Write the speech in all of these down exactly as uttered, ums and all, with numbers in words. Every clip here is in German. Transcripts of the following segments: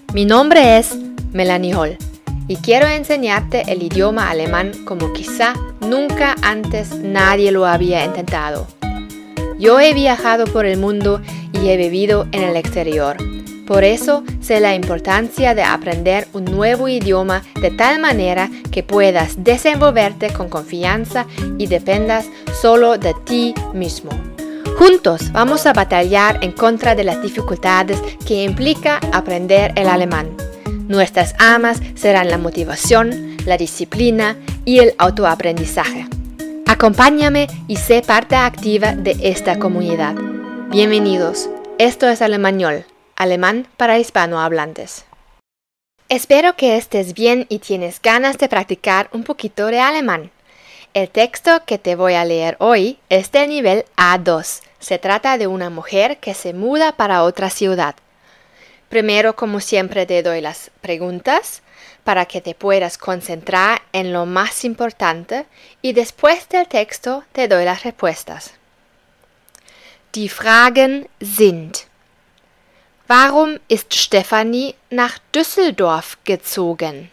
Mi nombre es Melanie Hall y quiero enseñarte el idioma alemán como quizá nunca antes nadie lo había intentado. Yo he viajado por el mundo y he vivido en el exterior. Por eso sé la importancia de aprender un nuevo idioma de tal manera que puedas desenvolverte con confianza y dependas solo de ti mismo. Juntos vamos a batallar en contra de las dificultades que implica aprender el alemán. Nuestras armas serán la motivación, la disciplina y el autoaprendizaje. Acompáñame y sé parte activa de esta comunidad. Bienvenidos. Esto es Alemañol, alemán para hispanohablantes. Espero que estés bien y tienes ganas de practicar un poquito de alemán. El texto que te voy a leer hoy es del nivel A dos. Se trata de una mujer que se muda para otra ciudad. Primero, como siempre, te doy las preguntas para que te puedas concentrar en lo más importante y después del texto te doy las respuestas. Die Fragen sind: Warum ist Stefanie nach Düsseldorf gezogen?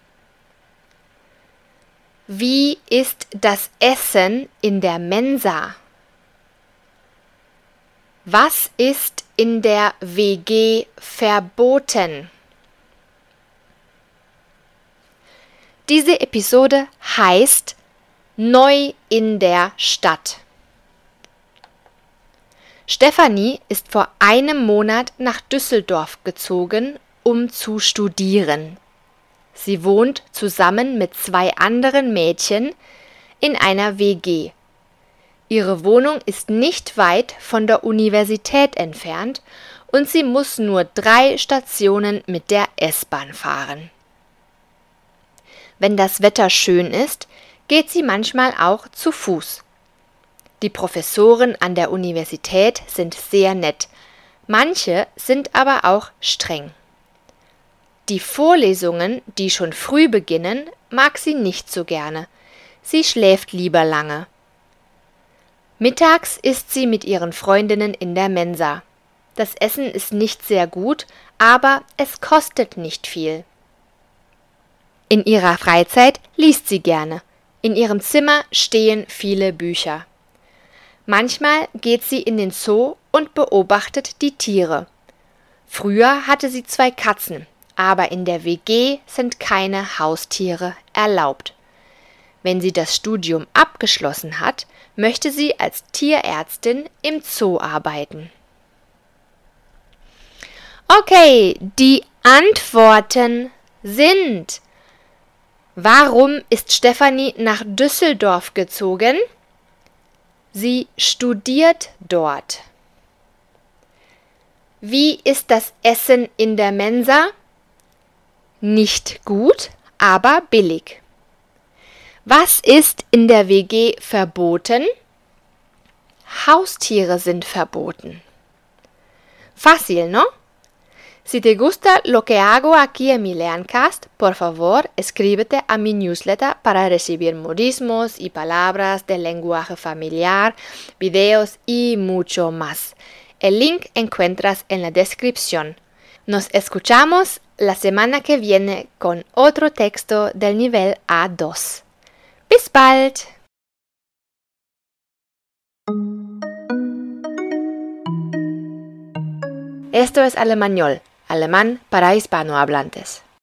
Wie ist das Essen in der Mensa? Was ist in der W G verboten? Diese Episode heißt Neu in der Stadt. Stefanie ist vor einem Monat nach Düsseldorf gezogen, um zu studieren. Sie wohnt zusammen mit zwei anderen Mädchen in einer W G. Ihre Wohnung ist nicht weit von der Universität entfernt und sie muss nur drei Stationen mit der S-Bahn fahren. Wenn das Wetter schön ist, geht sie manchmal auch zu Fuß. Die Professoren an der Universität sind sehr nett, manche sind aber auch streng. Die Vorlesungen, die schon früh beginnen, mag sie nicht so gerne. Sie schläft lieber lange. Mittags isst sie mit ihren Freundinnen in der Mensa. Das Essen ist nicht sehr gut, aber es kostet nicht viel. In ihrer Freizeit liest sie gerne. In ihrem Zimmer stehen viele Bücher. Manchmal geht sie in den Zoo und beobachtet die Tiere. Früher hatte sie zwei Katzen, aber in der W G sind keine Haustiere erlaubt. Wenn sie das Studium abgeschlossen hat, möchte sie als Tierärztin im Zoo arbeiten. Okay, die Antworten sind: Warum ist Stefanie nach Düsseldorf gezogen? Sie studiert dort. Wie ist das Essen in der Mensa? Nicht gut, aber billig. Was ist in der W G verboten? Haustiere sind verboten. Fácil, ¿no? Si te gusta lo que hago aquí en mi Learncast, por favor, escríbete a mi newsletter para recibir modismos y palabras del lenguaje familiar, videos y mucho más. El link encuentras en la descripción. Nos escuchamos la semana que viene con otro texto del nivel A dos. Bis bald! Esto es Alemañol, alemán para hispanohablantes.